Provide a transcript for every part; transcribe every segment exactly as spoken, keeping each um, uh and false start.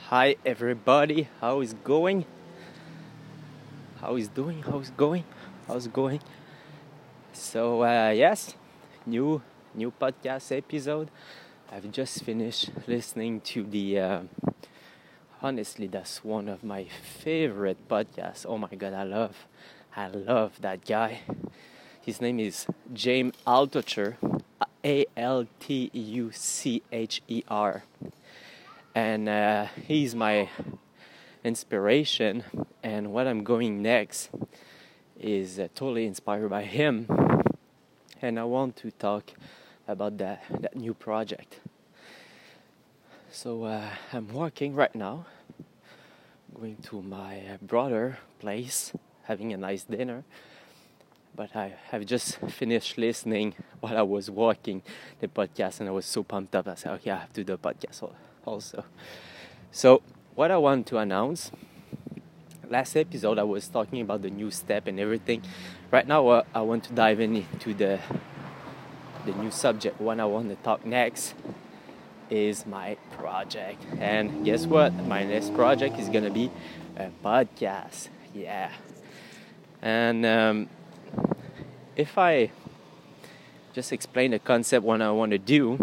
Hi everybody, how is going? How is doing? How's going? How's going? So uh, yes, new new podcast episode. I've just finished listening to the. Uh, honestly, that's one of my favorite podcasts. Oh my god, I love, I love that guy. His name is James Altucher, A L T U C H E R, and uh, he's my inspiration. And what I'm going next is uh, totally inspired by him, and I want to talk about that that new project. So uh, I'm working right now, going to my uh, brother place, having a nice dinner. But I have just finished listening while I was walking the podcast, and I was so pumped up. I said, okay, I have to do a podcast also. So what I want to announce, last episode I was talking about the new step and everything. Right now uh, I want to dive into the the new subject. What I want to talk next is my project. And guess what? My next project is going to be a podcast. Yeah. And um, if I just explain the concept, what I want to do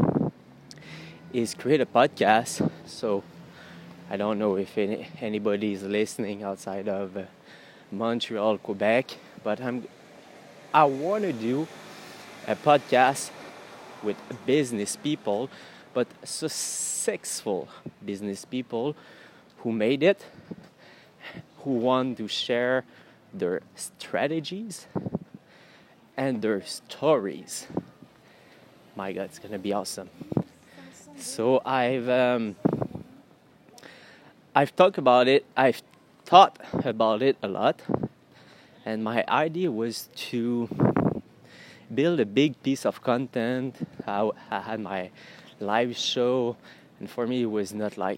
is create a podcast. So I don't know if any, anybody is listening outside of uh, Montreal, Quebec, but I'm I want to do a podcast with business people, but successful business people who made it, who want to share their strategies and their stories. My God, it's gonna be awesome. So I've um, I've talked about it. I've thought about it a lot, and my idea was to build a big piece of content. I, I had my live show, and for me it was not like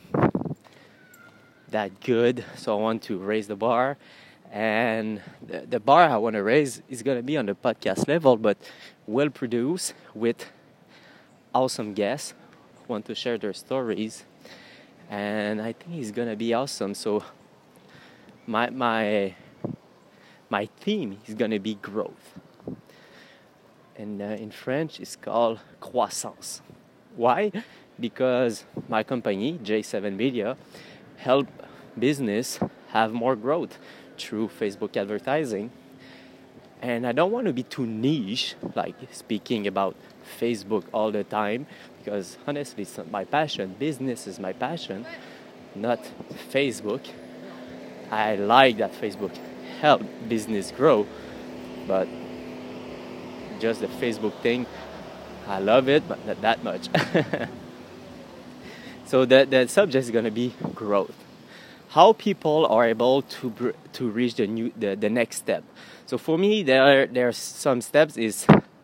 that good. So I want to raise the bar. And the, the bar I want to raise is going to be on the podcast level, but well produced with awesome guests who want to share their stories. And I think it's going to be awesome. So my my my theme is going to be growth. And uh, in French, it's called croissance. Why? Because my company, J seven Media, help business have more growth through Facebook advertising. And I don't want to be too niche, like speaking about Facebook all the time, because honestly, it's not my passion. Business is my passion, not Facebook. I like that Facebook help business grow, but just the Facebook thing, I love it, but not that much. So the, the subject is going to be growth. How people are able to br- to reach the new the, the next step. So for me, there are, there are some steps is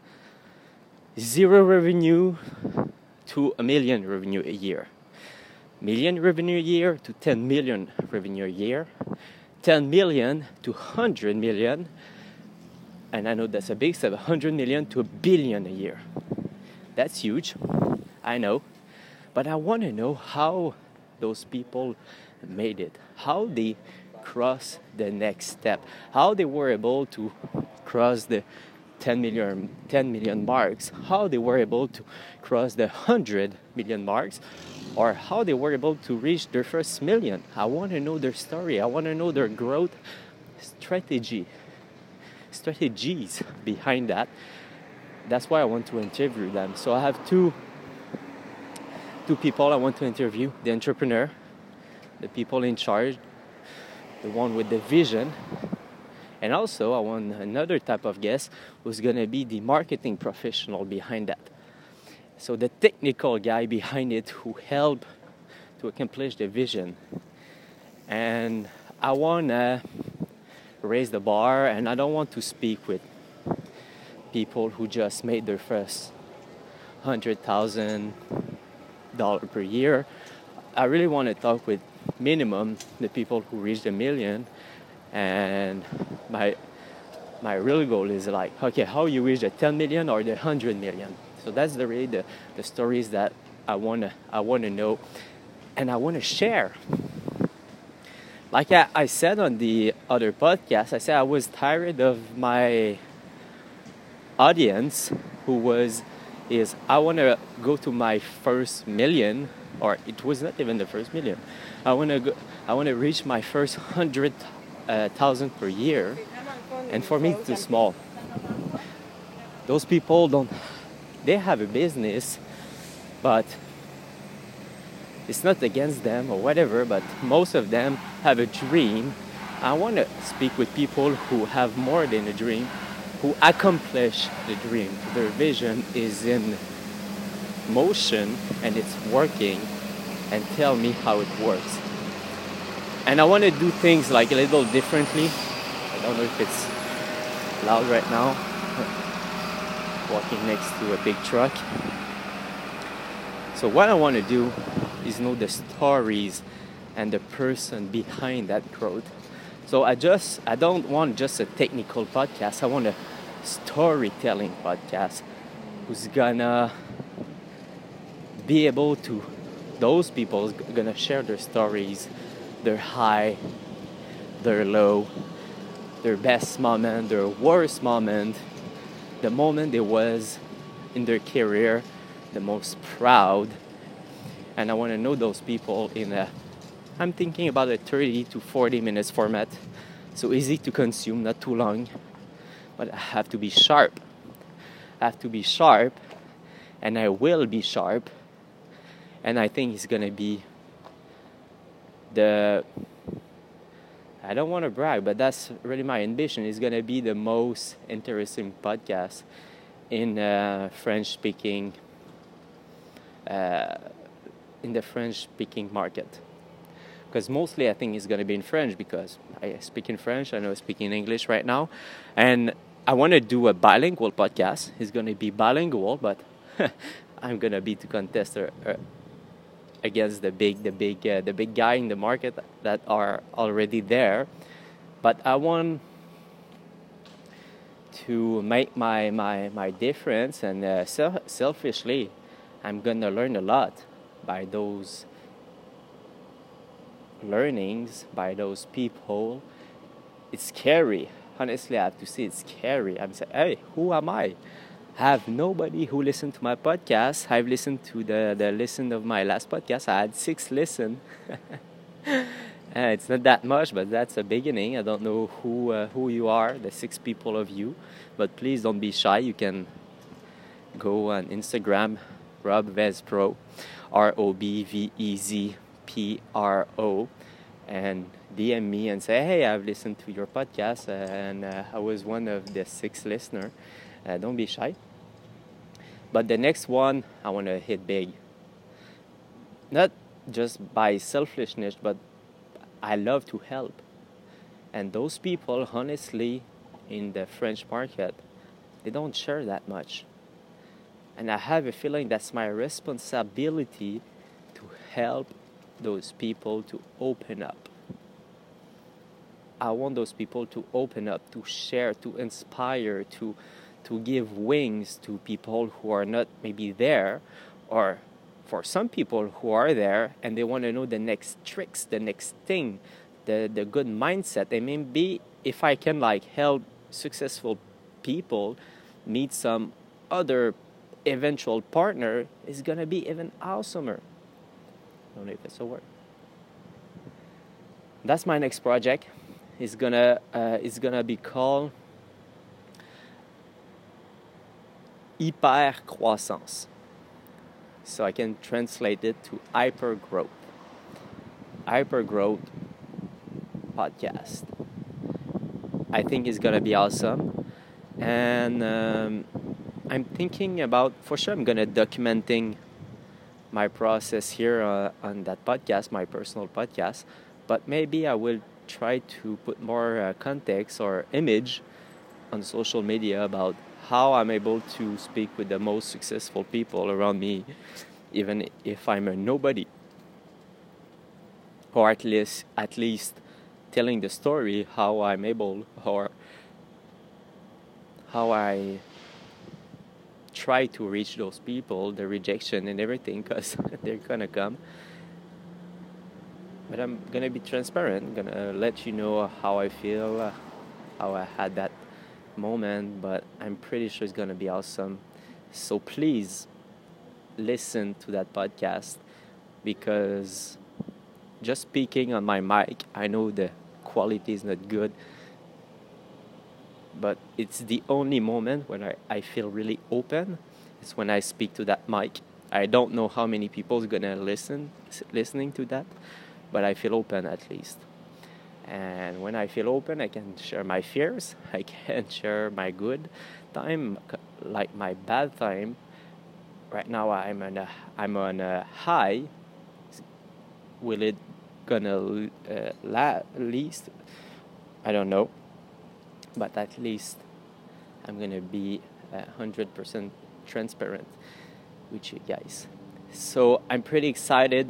zero revenue to a million revenue a year, million revenue a year to ten million revenue a year, ten million to hundred million, and I know that's a big step, hundred million to a billion a year. That's huge, I know, but I want to know how those people made it, how they crossed the next step, how they were able to cross the ten million, ten million marks, how they were able to cross the one hundred million marks, or how they were able to reach their first million. I want to know their story. I want to know their growth strategy, strategies behind that. That's why I want to interview them. So I have two two people I want to interview: the entrepreneur, the people in charge, the one with the vision, and also I want another type of guest who's going to be the marketing professional behind that. So the technical guy behind it who help to accomplish the vision. And I want to raise the bar, and I don't want to speak with people who just made their first one hundred thousand dollars per year. I really want to talk with minimum the people who reached a million, and my my real goal is like, okay, how you reach the ten million or the one hundred million. So that's the really the, the stories that I wanna I wanna know. and I want to share. Like I, I said on the other podcast, I said I was tired of my audience who was, is I want to go to my first million, or it was not even the first million. I want to go, I want to reach my first hundred uh, thousand per year, and for me it's too small. Those people don't, they have a business, but it's not against them or whatever, but most of them have a dream. I want to speak with people who have more than a dream, who accomplish the dream. Their vision is in motion and it's working, and tell me how it works. And I want to do things like a little differently. I don't know if it's loud right now. Walking next to a big truck. So what I want to do is know the stories and the person behind that growth. So I just I don't want just a technical podcast. I want a storytelling podcast who's gonna be able to, those people is gonna share their stories, their high, their low, their best moment, their worst moment, the moment they was in their career the most proud. And I want to know those people in a, I'm thinking about a thirty to forty minutes format. So easy to consume, not too long. But I have to be sharp. I have to be sharp. And I will be sharp. And I think it's going to be the, I don't want to brag, but that's really my ambition. It's going to be the most interesting podcast in uh, French-speaking uh, in the French-speaking market. Because mostly I think it's going to be in French, because I speak in French, I know I speak in English right now. And I want to do a bilingual podcast. It's going to be bilingual, but I'm going to be to contest uh, against the big, the big, uh, the big guy in the market that are already there. But I want to make my, my, my difference, and uh, self- selfishly, I'm going to learn a lot by those learnings, by those people. It's scary. Honestly, I have to say it's scary. I'm saying, hey, who am I? I have nobody who listened to my podcast. I've listened to the, the listen of my last podcast. I had six listen. uh, it's not that much, but that's a beginning. I don't know who uh, who you are, the six people of you. But please don't be shy. You can go on Instagram, Rob Vez Pro, R O B V E Z P R O, and D M me and say, hey, I've listened to your podcast, uh, and uh, I was one of the six listeners. Uh, don't be shy. But the next one, I want to hit big. Not just by selfishness, but I love to help. And those people, honestly, in the French market, they don't share that much. And I have a feeling that's my responsibility to help those people to open up. I want those people to open up, to share, to inspire, to to give wings to people who are not maybe there, or for some people who are there and they want to know the next tricks, the next thing, the, the good mindset. And maybe if I can like help successful people meet some other eventual partner, it's going to be even awesomer. I don't know if it's a word. That's my next project. It's gonna uh, it's gonna be called Hypercroissance. So I can translate it to hypergrowth. Hypergrowth podcast. I think it's gonna be awesome, and um, I'm thinking about, for sure I'm gonna documenting my process here uh, on that podcast, my personal podcast, but maybe I will try to put more uh, context or image on social media about how I'm able to speak with the most successful people around me, even if I'm a nobody, or at least at least telling the story how I'm able, or how I try to reach those people, the rejection and everything, because they're gonna come. but I'm gonna be transparent, gonna let you know how I feel, uh, how I had that moment, but I'm pretty sure it's gonna be awesome. So please listen to that podcast, because just speaking on my mic, I know the quality is not good, but it's the only moment when I, I feel really open. It's when I speak to that mic. I don't know how many people is gonna listen listening to that, but I feel open at least. And when I feel open, I can share my fears. I can share my good time, like my bad time. Right now, I'm on a I'm on a high. Will it gonna uh, la- least? I don't know, but at least I'm gonna be a hundred percent transparent with you guys. So I'm pretty excited,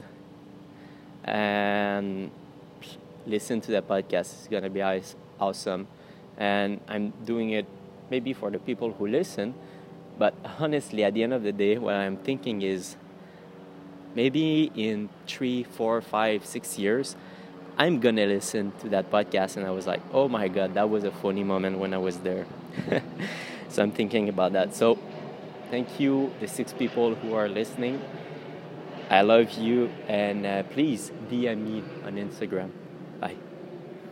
and listen to the podcast. It's gonna be awesome, and I'm doing it maybe for the people who listen, but honestly, at the end of the day, what I'm thinking is maybe in three, four, five, six years, I'm gonna listen to that podcast, and I was like, oh my god, that was a funny moment when I was there. So I'm thinking about that. So thank you, the six people who are listening. I love you, and uh, please D M me on Instagram. Bye.